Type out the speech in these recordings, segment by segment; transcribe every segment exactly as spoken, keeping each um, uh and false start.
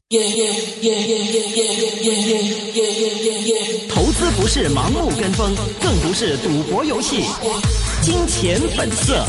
投资不是盲目跟风，更不是赌博游戏。金钱本色。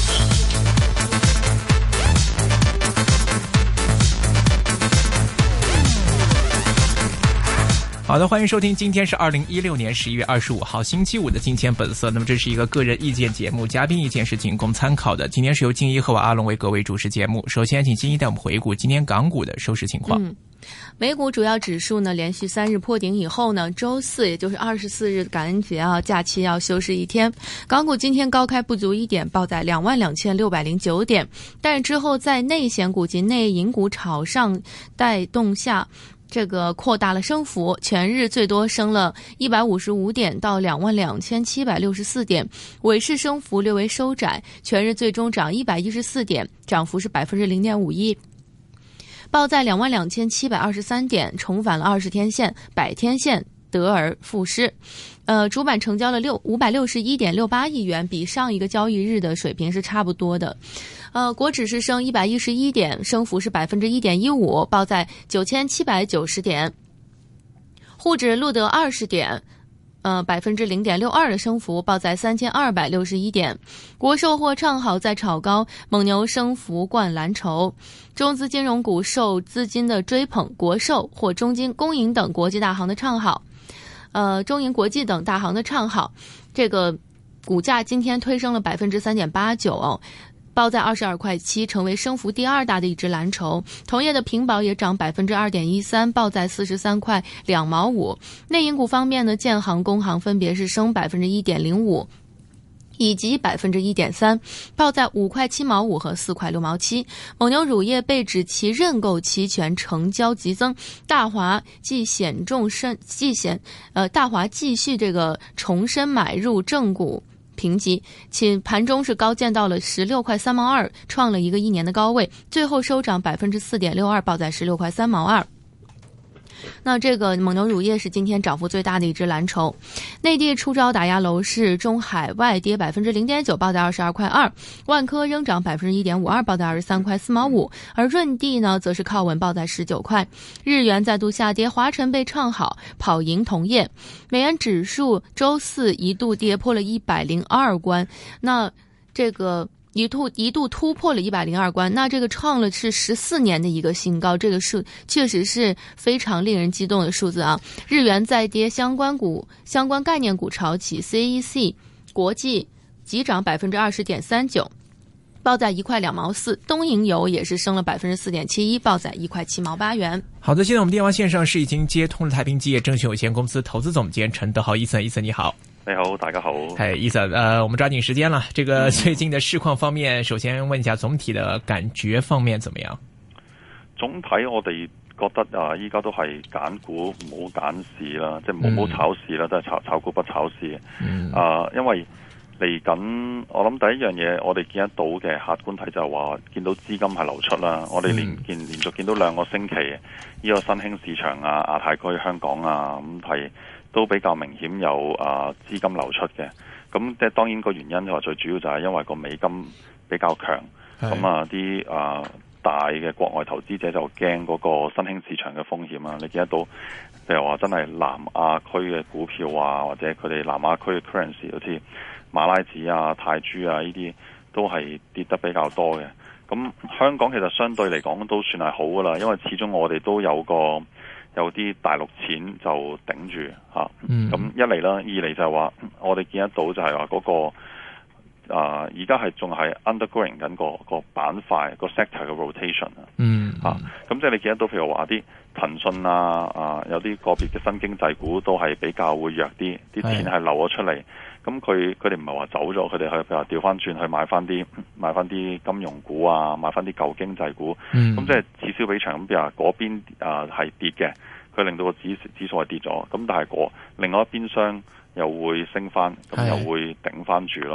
好的，欢迎收听，今天是二零一六年十一月二十五号星期五的金钱本色。那么这是一个个人意见节目，嘉宾意见是仅供参考的。今天是由金一和我阿龙为各位主持节目。首先请金一带我们回顾今天港股的收市情况。 嗯，美股主要指数呢连续三日破顶以后呢，周四也就是二十四日感恩节啊假期要休市一天，港股今天高开不足一点，报在两万两千六百零九点，但之后在内险股及内银股炒上带动下，这个扩大了升幅，全日最多升了一百五十五点到两万两千七百六十四点，尾市升幅略微收窄，全日最终涨一百一十四点，涨幅是百分之零点五一，报在两万两千七百二十三点，重返了二十天线、百天线，得而复失。呃，主板成交了六五百六十一点六八亿元，比上一个交易日的水平是差不多的。呃，国指是升一百一十一点，升幅是百分之一点一五，报在九千七百九十点。沪指录得二十点。呃，百分之零点六二的升幅，报在三千二百六十一点。国寿或唱好在炒高，蒙牛升幅冠蓝筹。中资金融股受资金的追捧，国寿或中金、工银等国际大行的唱好，呃，中银国际等大行的唱好，这个股价今天推升了百分之三点八九哦。报在二十二块七，成为升幅第二大的一只蓝筹。同业的平保也涨百分之二点一三，报在四十三块两毛五。内银股方面呢，建行、工行分别是升百分之一点零五。以及百分之一点三，报在五块七毛五和四块六毛七。蒙牛乳业被指其认购期权成交急增，大华继险重申继险呃大华继续这个重申买入正股。评级，其盘中是高见到了十六块三毛二，创了一个一年的高位，最后收涨百分之四点六二，报在十六块三毛二。那这个蒙牛乳业是今天涨幅最大的一只蓝筹。内地出招打压楼市，中海外跌百分之零点九，报在二十二块二。万科仍涨百分之一点五二，报在二十三块四毛五。而润地呢，则是靠稳，报在十九块。日元再度下跌，华晨被唱好，跑赢同业。美元指数周四一度跌破了一百零二关，那这个。一度一度突破了一百零二关，那这个创了是十四年的一个新高，这个数确实是非常令人激动的数字啊！日元再跌，相关股、相关概念股炒起 ，C E C 国际急涨百分之二十点三九，报在一块两毛四。东瀛油也是升了百分之四点七一，报在一块七毛八元。 好的，现在我们电话线上是已经接通了太平基业证券有限公司投资总监陈德豪伊森，伊森你好。 你好，大家好。 哎，伊森，呃，我们抓紧时间了。这个最近的市况方面，首先问一下总体的感觉方面怎么样？ 總體我哋覺得啊，依家都係揀股唔好揀市啦，即係唔好炒市啦，都係炒炒股不炒市。嗯。啊，因為嚟緊，我諗第一樣嘢，我哋見得到嘅客觀睇就係話，見到資金係流出啦。我哋連見連續見到兩個星期，呢個新興市場啊、亞太區、香港啊，咁係。都比較明顯有啊資金流出嘅，咁即係當然個原因就話最主要就係因為個美金比較強，咁啊啲啊大嘅國外投資者就驚嗰個新興市場嘅風險啊！你見得到，譬如話真係南亞區嘅股票啊，或者佢哋南亞區嘅 currency， 好似馬拉子啊、泰銖啊呢啲都係跌得比較多嘅。咁香港其實相對嚟講都算係好噶啦，因為始終我哋都有個。有啲大陸錢就頂住嚇，咁、嗯、一嚟啦，二嚟就係話我哋見得到就係話嗰個啊，而家係仲係 undergoing 緊個個板塊個 sector 嘅 rotation 啊，嗯嚇，咁即係你見得到譬如話啲騰訊啊啊，有啲個別嘅新經濟股都係比較會弱啲，啲錢係流咗出嚟，咁佢佢哋唔係話走咗，佢哋去譬如話調翻轉去買翻啲買翻啲金融股啊，買翻啲舊經濟股，咁、嗯、即係此消彼長咁，譬如話嗰邊啊係跌嘅。佢令到個指指數係跌咗，咁但係嗰另外一邊廂又會升翻，咁又會頂翻住咯。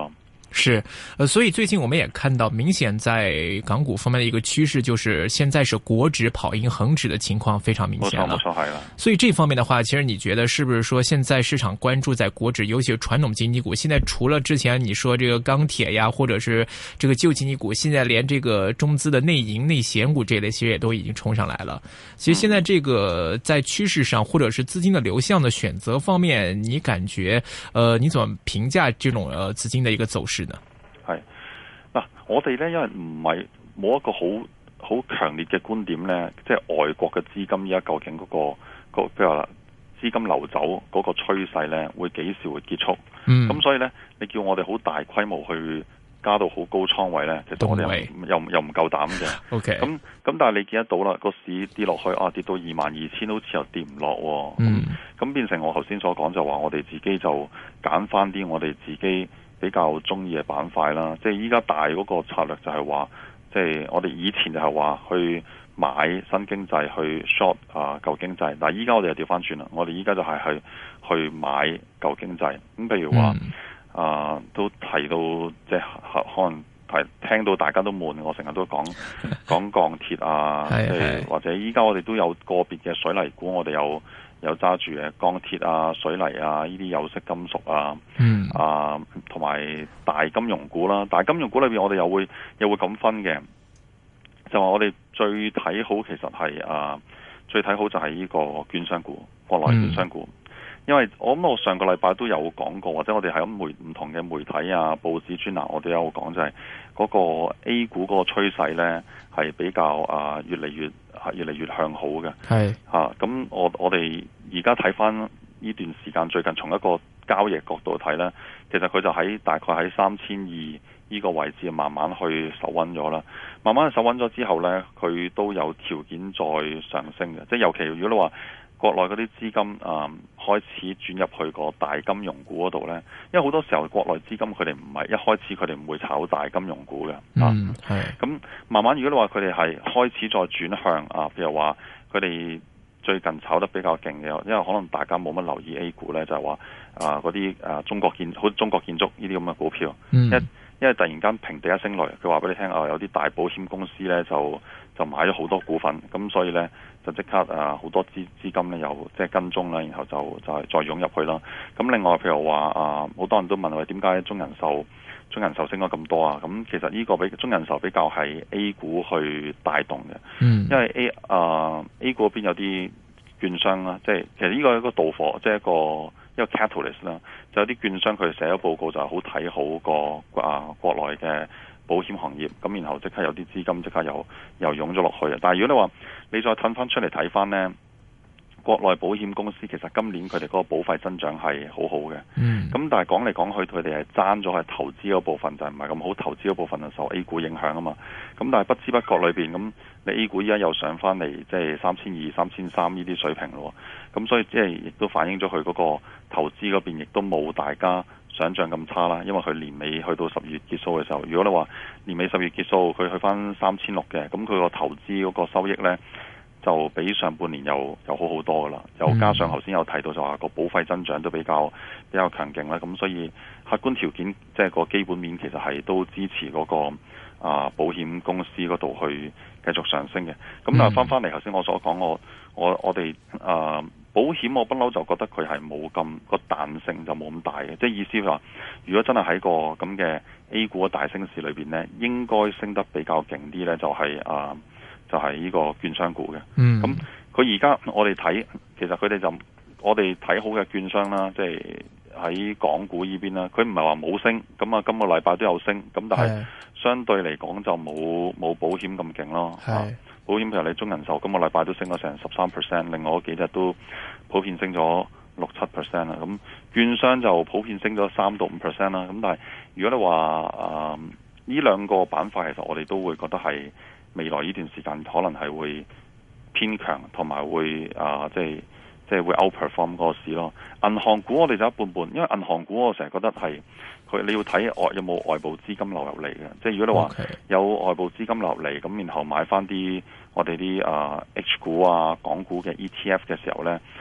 是，呃，所以最近我们也看到，明顯在港股方面的一個趨勢，就是現在是國指跑贏恒指的情況非常明顯了。 冇錯，冇錯，係啦。 所以這方面的話，其實你覺得是不是說，現在市場關注在國指，尤其是傳統經濟股，現在除了之前你說這個鋼鐵呀，或者是這個舊經濟股，現在連這個中資的內銀、內險股這類，其實也都已經衝上來了。其實現在這個在趨勢上，或者是資金的流向的選擇方面，你感覺，呃，你怎麼評價這種呃資金的一個走勢？ 係嗱，我哋咧因為唔係冇一個好好強烈嘅觀點咧，即係外國嘅資金依家究竟嗰、嗰個個譬如話資金流走嗰個趨勢咧，會幾時會結束？咁、嗯、所以咧，你叫我哋好大規模去加到好高倉位咧，其實我哋又又又唔夠膽嘅。OK，咁咁但係你見得到啦，個市跌落去啊，跌到二萬二千，好似又跌唔落。嗯，咁變成我頭先所講就話，我哋自己就揀翻啲我哋自己比較中意嘅板塊啦，即係依家大嗰個策略就係話，即係我哋以前就係話去買新經濟去 short 啊舊經濟，但係依家我哋就調翻轉啦，我哋依家就係去去買舊經濟。咁譬如話、嗯、啊，都提到即係可能提聽到大家都悶，我成日都講講鋼鐵啊，即係或者依家我哋都有個別嘅水泥股，我哋有。有揸住嘅鋼鐵啊、水泥啊呢啲有色金屬啊，嗯啊同埋大金融股啦。大金融股裏邊我哋又會又會咁分嘅，就話我哋最睇好其實係啊最睇好就係呢個券商股，國內券商股。嗯、因為我諗我上個禮拜都有講過，或者我哋喺媒唔同嘅媒體啊、報紙專欄，我哋有講就係嗰個 A 股嗰個趨勢咧係比較啊越嚟越。係越嚟越向好嘅，係嚇咁我我哋而家睇翻呢段時間，最近從一個交易角度睇咧，其實佢就喺大概喺三千二呢個位置慢慢去守穩咗啦。慢慢去守穩咗之後咧，佢都有條件再上升嘅。即係尤其如果你話國內嗰啲資金啊、嗯、開始轉入去個大金融股嗰度咧，因為好多時候國內資金佢哋唔係一開始佢哋唔會炒大金融股嘅，嗯係咁慢慢如果你話佢哋係開始再轉向啊，譬如話佢哋最近炒得比較勁嘅，因為可能大家冇乜留意 A 股咧，就係話啊嗰啲啊中國建好中國建築呢啲咁嘅股票，嗯、一因為突然間平地一聲雷，佢話俾你聽啊，有啲大保險公司咧就就買咗好多股份，咁所以咧。就即刻啊，好多資資金咧又即係跟蹤啦，然後就就係再湧入去啦。咁另外譬如話啊，好多人都問我點解中人壽中人壽升咗咁多啊？咁其實呢個比中人壽比較係 A 股去帶動嘅，嗯，因為 A 啊 A 股嗰邊有啲券商啦，即係其實呢個係一個導火，即係一個一個 catalyst 啦，就有啲券商佢寫咗報告就係好睇好個啊國內嘅保險行業，咁然後即刻有啲資金即刻又又湧咗落去啊！但係如果你話你再褪翻出嚟睇翻呢，國內保險公司其實今年佢哋嗰個保費增長係好好嘅，咁、嗯、但係講嚟講去佢哋係爭咗係投資嗰部分，就係唔係咁好，投資嗰部分就受 A 股影響啊嘛。咁但係不知不覺裏邊咁，你 A 股依家又上翻嚟，即係三千二、三千三呢啲水平咯。咁所以即係亦都反映咗佢嗰個投資嗰邊亦都冇大家想象咁差啦，因為佢年尾去到十月結束嘅時候，如果你話年尾十月結束，佢去翻三千六嘅，咁佢個投資嗰個收益呢，就比上半年又又好好多噶啦，又加上頭先有提到就話個保費增長都比較比較強勁啦，咁所以客觀條件即係個基本面其實係都支持嗰個啊保險公司嗰度去繼續上升嘅。咁但係翻翻嚟頭先我所講，我我我哋啊。保險我不嬲就覺得佢係冇咁個彈性就冇咁大嘅，即係意思話，如果真係喺個咁嘅 A 股嘅大升市裏邊呢，應該升得比較勁啲呢，就係、是、啊，就係、是、呢個券商股嘅。嗯，咁佢而家我哋睇，其實佢哋就我哋睇好嘅券商啦，即係喺港股呢邊啦，佢唔係話冇升，咁啊今個禮拜都有升，咁但係相對嚟講就冇冇保險咁勁咯。係。保險譬如你中人壽今個禮拜都升咗成十三 percent， 另外嗰幾隻都普遍升咗六七 percent 啦。咁券商就普遍升咗三到五 percent 啦。咁但係如果你話誒呢兩個板塊，其實我哋都會覺得係未來呢段時間可能係會偏強，同埋會啊、呃、即係即係會 outperform 嗰個市咯。銀行股我哋就一半半，因為銀行股我成日覺得係佢你要睇外有冇外部資金流入嚟嘅。即係如果你話有外部資金流入嚟，咁然後買翻啲我哋啲啊 H 股啊港股嘅 E T F 嘅時候呢，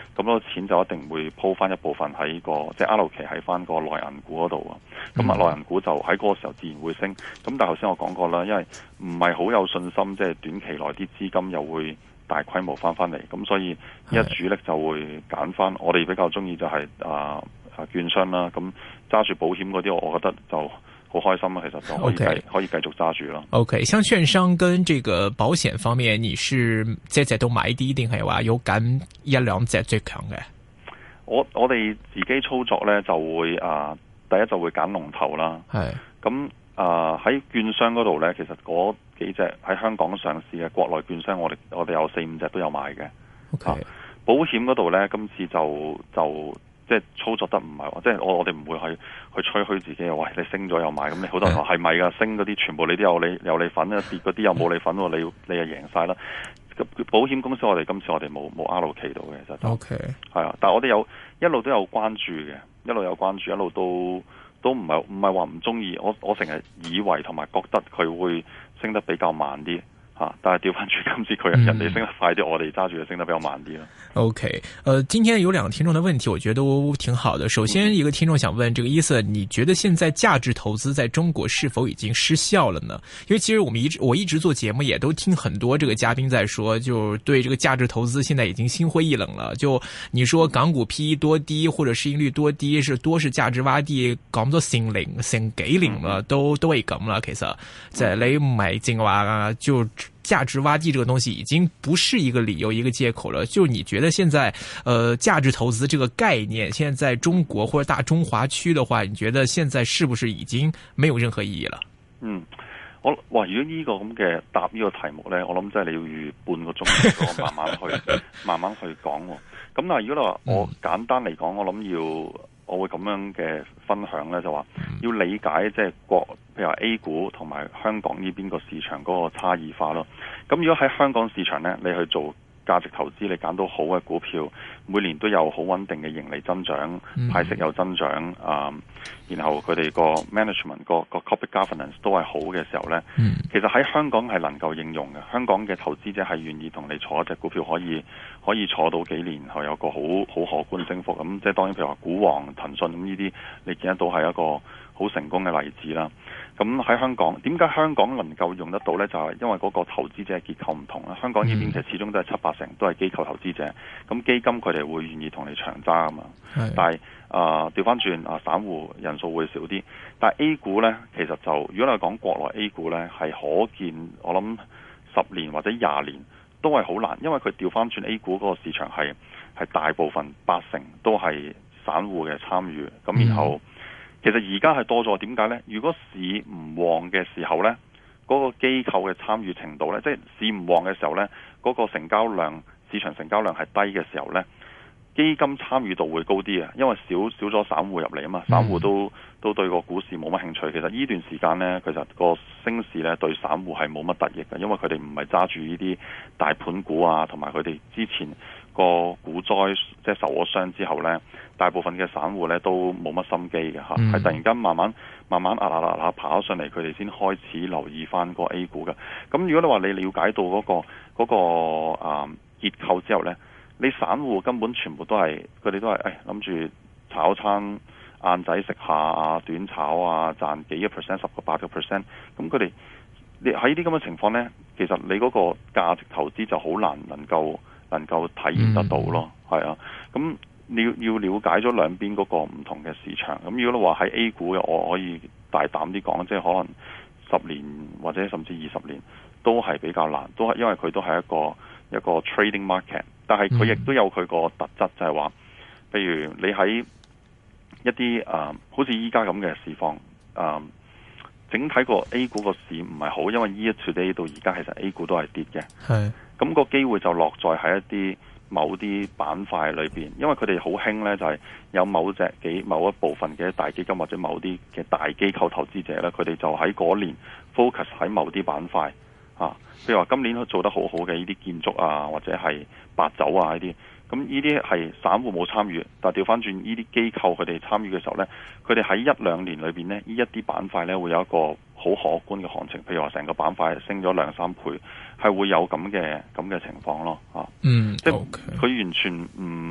咁嗰個錢就一定會鋪翻一部分喺個即係 allocate 喺翻個內銀股嗰度啊。咁啊內銀股就喺嗰個時候自然會升。咁但係頭先我講過啦，因為唔係好有信心，即係短期內啲資金又會大規模翻翻嚟，咁所以一主力就會揀翻。我哋比較中意就係啊啊券商啦，咁揸住保險嗰啲，我覺得就好開心啊！其實就可以繼 Okay. 可以繼續揸住咯。 OK，像券商跟這個保險方面，你是隻隻都買啲，定係話有揀一兩隻最強嘅？我我哋自己操作咧就會啊，第一就會揀龍頭啦。 係咁啊喺券商嗰度咧，其實嗰幾隻喺香港上市嘅國內券商，我哋我哋有四五隻都有買嘅。 OK，、啊、 保險嗰度咧，今次就就。即係操作得唔係話，即係我我哋唔會去去吹噓自己又喂你升咗又買，咁你好多人話係咪㗎？升嗰啲全部你都有你有你份啊，跌嗰啲又冇你份喎，你你又贏晒啦。保險公司我哋今次我哋冇冇 allocate到嘅，其實就 OK 係啊，但係我哋有一路都有關注嘅，一路有關注，一路都都唔係唔係話唔中意。我我成日以為同埋覺得佢會升得比較慢啲。啊！但係調翻轉，今次佢人哋升得快啲，嗯、我哋揸住就升得比較慢啲咯。 OK，呃，今天有兩個聽眾的問題，我覺得都挺好的。首先，一個聽眾想問，這個意思，你覺得現在價值投資在中國是否已經失效了呢？因為其實我們一直我一直做節目，也都聽很多這個嘉賓在說，就對這個價值投資現在已經心灰意冷了。就你說港股 P E 多低，或者市盈率多低，是多是價值洼地，講咗成零成幾年啦，都都係咁啦。其實即係你唔係淨話就。價值洼地這個東西已經不是一個理由，一個借口了。就你覺得現在，呃，價值投資這個概念，現在在中國或者大中華區的話，你覺得現在是不是已經沒有任何意義了？ 嗯，我哇，如果呢個咁嘅答呢個題目呢，我諗真係你要預半個鐘，慢慢去慢慢去講。咁但係如果你話我簡單嚟講，我諗要。我會咁樣嘅分享呢，就話要理解即係國，譬如話 A 股同埋香港呢邊個市場嗰個差異化咯。咁如果喺香港市場呢，你去做價值投資，你揀到好嘅股票，每年都有好穩定嘅盈利增長，派息有增長啊、嗯，然後佢哋個 management 個個 corporate governance 都係好嘅時候呢，嗯、其實喺香港係能夠應用嘅。香港嘅投資者係願意同你坐一隻股票，可以可以坐到幾年，後有個好好可觀升幅。咁即係當然，譬如話股王騰訊咁呢啲，你見得到係一個好成功嘅例子啦。咁喺香港，點解香港能夠用得到呢？就係、是、因為嗰個投資者結構唔同啦。香港呢邊其實始終都係七八成都係機構投資者，咁基金佢哋會願意同你長揸啊嘛。是但係啊，調翻轉啊，散戶人數會少啲。但係 A 股呢，其實就如果你講國內 A 股呢，係可見我諗十年或者廿年都係好難，因為佢調翻轉 A 股嗰個市場係係大部分八成都係散戶嘅參與，咁然後。嗯其實而家係多咗，點解呢？如果市唔旺嘅時候呢，嗰、那個機構嘅參與程度呢，即係市唔旺嘅時候呢，嗰、那個成交量、市場成交量係低嘅時候呢，基金參與度會高啲啊，因為少少咗散戶入嚟啊嘛，散戶都都對個股市冇乜興趣。其實呢段時間呢，其實個升市呢對散戶係冇乜得益嘅，因為佢哋唔係揸住呢啲大盤股啊，同埋佢哋之前個股災即係受咗傷之後呢。大部分嘅散戶咧都冇乜心機嘅嚇，係、嗯、突然間慢慢慢慢壓壓壓壓爬咗上嚟，佢哋先開始留意翻個 A 股嘅。咁如果你話你了解到嗰、嗰個嗰、嗰個啊、嗯、結構之後咧，你散戶根本全部都係佢哋都係誒諗住炒餐晏仔食下啊，短炒啊，賺幾個 percent 十個八個 percent。咁佢哋你喺啲咁嘅情況咧，其實你嗰個價值投資就好難能夠能夠體驗得到咯，係、嗯、啊，咁。你要要了解咗兩邊嗰個唔同嘅市場，咁如果你話喺 A 股嘅，我可以大膽啲講，即係可能十年或者甚至二十年都係比較難，都係因為佢都係一個一個 trading market，但係佢亦都有佢個特質，就係話，譬如你喺一啲誒、呃，好似依家咁嘅市況，誒、呃，整體個 A 股個市唔係好，因為 year to date 到而家其實 A 股都係跌嘅，係，咁個機會就落在喺一啲。某啲板塊裏邊，因為佢哋好興呢，就係有某隻幾某一部分嘅大基金或者某啲嘅大機構投資者呢，佢哋就喺嗰年 focus 喺某啲板塊啊，譬如話今年做得好好嘅呢啲建築啊，或者係白酒啊呢啲，咁呢啲係散戶冇參與，但係調翻轉呢啲機構佢哋參與嘅時候呢，佢哋喺一兩年裏邊呢，呢一啲板塊呢會有一個好可觀嘅行情，譬如話成個板塊升咗兩三倍，係會有咁嘅咁嘅情況咯，啊，嗯，即係佢完全唔唔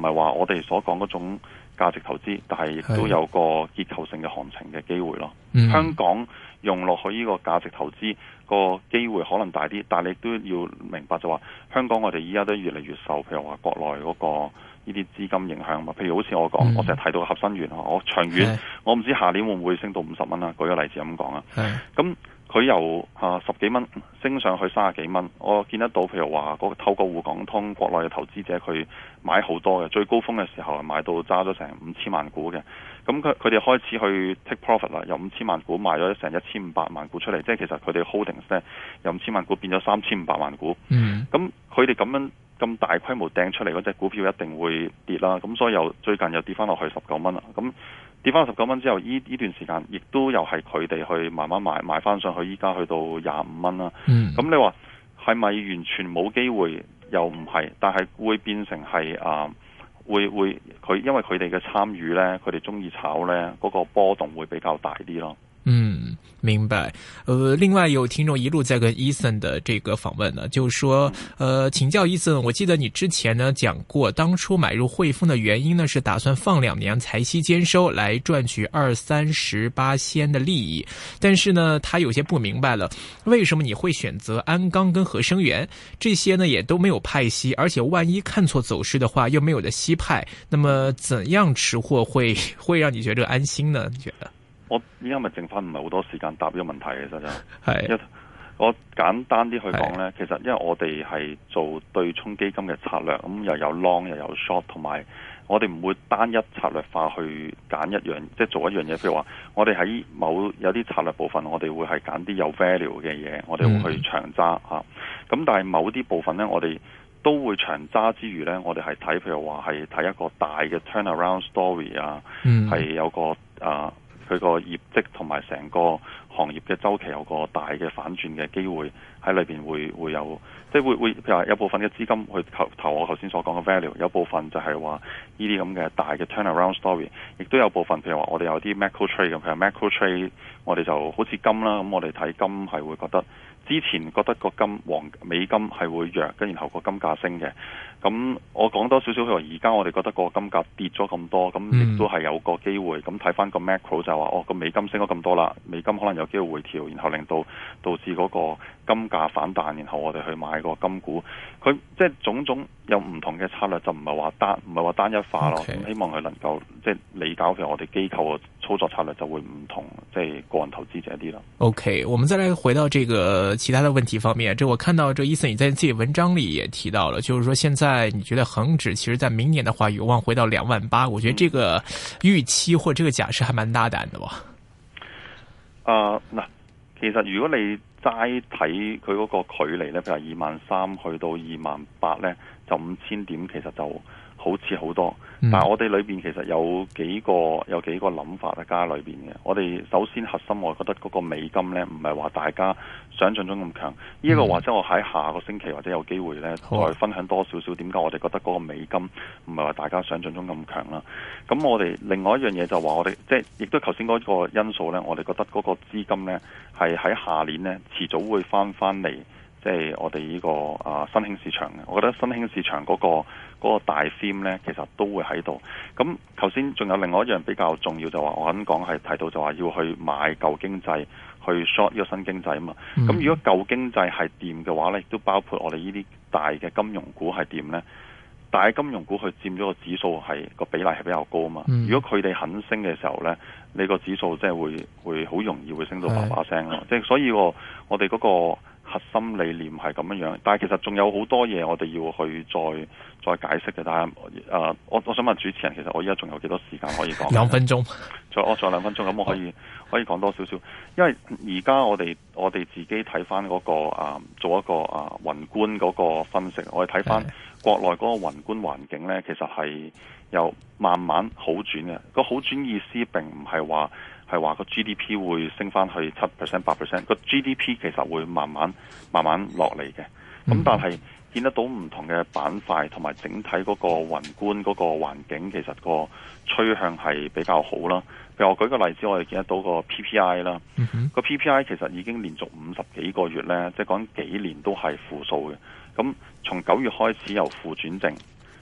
係話我哋所講嗰種價值投資，但係亦都有個結構性嘅行情嘅機會咯。 嗯、 香港用落去呢個價值投資個機會可能大啲，但係你都要明白就話香港我哋依家都越嚟越受，譬如話國內嗰個呢啲資金影響嘛。譬如好似我講，嗯、我成日睇到合生元，我長遠我唔知下年會唔會升到五十蚊啦。舉個例子咁講啊，咁佢由啊十幾蚊升上去三十幾蚊，我見得到譬如話嗰個透過滬港通國內嘅投資者佢買好多嘅，最高峰嘅時候係買到揸咗成五千萬股嘅。咁佢佢哋開始去 take profit 啦，由五千萬股賣咗成一千五百萬股出嚟，即係其實佢哋 holdings 咧由五千萬股變咗三千五百萬股。嗯，咁佢哋咁樣咁大規模掟出嚟嗰隻股票一定會跌啦。咁所以又最近又跌翻落去十九蚊啦。咁跌翻十九蚊之後，呢呢段時間亦都又係佢哋去慢慢買買翻上去，依家去到廿五蚊啦。嗯，咁你話係咪完全冇機會？又唔係，但係會變成係啊。會會佢因為佢哋嘅參與呢，佢哋中意炒呢，嗰個波動會比較大啲咯。 嗯，明白。呃，另外有聽眾一路在跟 Ethan 的這個訪問呢，就是說，呃，請教 Ethan，我記得你之前呢講過，當初買入匯豐的原因呢，是打算放兩年財息兼收，來賺取二三十八仙的利益。但是呢，他有些不明白了，為什麼你會選擇鞍鋼跟合生元這些呢，也都沒有派息，而且萬一看錯走勢的話，又沒有得息派，那麼怎樣持貨會會讓你覺得安心呢？你覺得？ 我依家咪剩翻唔係好多時間答呢個問題嘅，其實就係我簡單啲去講呢，其實因為我哋係做對沖基金嘅策略，咁又有 long 又有 short， 同埋我哋唔會單一策略化去揀一樣，即係做一樣嘢。譬如話，我哋喺某有啲策略部分，我哋會係揀啲有 value 嘅嘢，我哋會去長揸嚇。咁、嗯、但係某啲部分呢，我哋都會長揸之餘呢，我哋係睇譬如話係睇一個大嘅 turnaround story 啊，係、嗯、有個啊。佢個業績同埋成個行業嘅周期有個大嘅反轉嘅機會喺裏邊會會有，即係會會譬如話有部分嘅資金去投投我頭先所講嘅 value， 有部分就係話呢啲咁嘅大嘅 turnaround story， 亦都有部分譬如話我哋有啲 macro trade 咁，譬如 macro trade 我哋就好似金啦，咁我哋睇金係會覺得之前覺得個金黃美金係會弱，跟然後個金價升嘅。咁我講多少少，譬如話而家我哋覺得個金價跌咗咁多，咁亦都係有個機會。咁睇翻個 macro 就話，哦個美金升咗咁多啦，美金可能有機會回調，然後令到導致嗰個金價反彈，然後我哋去買個金股。佢即係種種有唔同嘅策略，就唔係話單唔係話單一化咯。咁 Okay. 希望佢能夠即係理解，譬如我哋機構嘅操作策略就會唔同，即係個人投資者啲啦。 OK，我們再來回到這個其他的問題方面。這我看到這Ethan你在自己文章裏也提到了，就是說現在你覺得恒指其實在明年的話有望回到兩萬八，我覺得這個預期或者這個假設還蠻大膽的喎。 啊嗱，其實如果你齋睇佢嗰個距離咧，譬如二萬三去到二萬八咧，就五千點，其實就好似好多。嗯、但係我哋裏邊其實有幾個有幾個諗法喺加裏邊嘅。我哋首先核心，我覺得嗰個美金咧，唔係話大家想象中咁強。呢一、嗯、個或者我喺下個星期或者有機會咧，再分享多少少點解我哋覺得嗰個美金唔係話大家想象中咁強啦。咁我哋另外一樣嘢就話我哋即係亦都頭先嗰個因素咧，我哋覺得嗰個資金咧係喺下年咧遲早會翻翻嚟。即係我哋呢、這個啊新興市場嘅，我覺得新興市場嗰、那個嗰、那個大 theme 咧，其實都會喺度。咁頭先仲有另外一樣比較重要就話，我啱講係提到就話要去買舊經濟，去 short 呢個新經濟啊嘛。咁、嗯、如果舊經濟係掂嘅話咧，亦都包括我哋呢啲大嘅金融股係掂咧。大金融股佢佔咗個指數係個比例係比較高啊嘛。嗯、如果佢哋肯升嘅時候咧，你個指數即係會會好容易會升到叭叭聲咯。即係所以我我哋嗰、那個。核心理念係咁樣樣，但係其實仲有好多嘢我哋要去再再解釋嘅。但係誒、呃，我我想問主持人，其實我依家仲有幾多時間可以講？兩分鐘，再我再兩分鐘，咁我可以好可以講多少少。因為而家我哋我哋自己睇翻嗰個啊，做一個啊宏觀嗰個分析，我哋睇翻國內嗰個宏觀環境咧，其實係有慢慢好轉嘅。個好轉意思並唔係話。係話個 G D P 會升翻去七 percent、八 percent， 個 G D P 其實會慢慢慢慢落嚟嘅。咁、嗯、但係見得到唔同嘅板塊同埋整體嗰個宏觀嗰個環境，其實個趨向係比較好啦。譬如我舉個例子，我哋見得到個 P P I 啦，個、嗯、哼 P P I 其實已經連續五十幾個月咧，即係講幾年都係負數嘅。咁從九月開始由負轉正。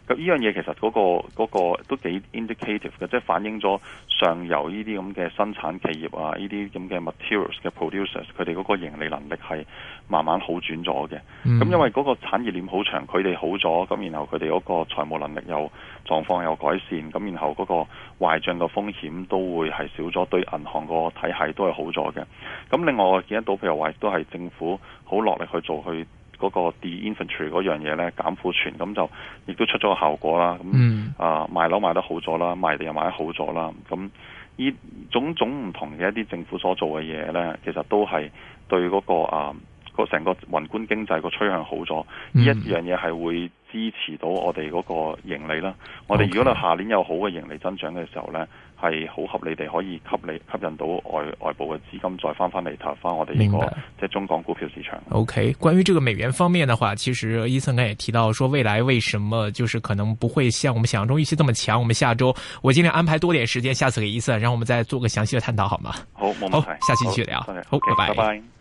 咁呢樣嘢其實嗰、那個嗰、那個都幾 indicative 嘅，即係反映咗上游呢啲咁嘅生產企業啊，呢啲咁嘅 materials 嘅 producers， 佢哋嗰個盈利能力係慢慢好轉咗嘅。咁、嗯、因為嗰個產業鏈好長，佢哋好咗，咁然後佢哋嗰個財務能力又狀況又改善，咁然後嗰個壞帳嘅風險都會係少咗，對銀行個體系都係好咗嘅。咁另外我見得到，譬如話都係政府好落力去做去。嗰個 de-inventory 嗰樣嘢咧，減庫存，咁就亦都出咗個效果啦。咁、嗯、啊賣樓賣得好咗啦，賣地又賣得好咗啦。咁呢種種唔同嘅一啲政府所做嘅嘢咧，其實都係對嗰、那個啊個成個宏觀經濟個趨向好咗。呢、嗯、一樣嘢係會支持到我哋嗰個盈利啦。我哋如果你下年有好嘅盈利增長嘅時候咧，係好合理地可以吸你吸引到外外部嘅資金再翻翻嚟投翻我哋呢、這個即係中港股票市場。 OK， 關於這個美元方面的話，其實伊森剛也提到說，未來為什麼就是可能不會像我們想象中預期這麼強。我們下周我盡量安排多點時間，下次給伊森，讓我們再做個詳細的探討，好嗎？ 好，冇問題。 好，下期繼續聊。 好， 好，拜拜。 拜拜。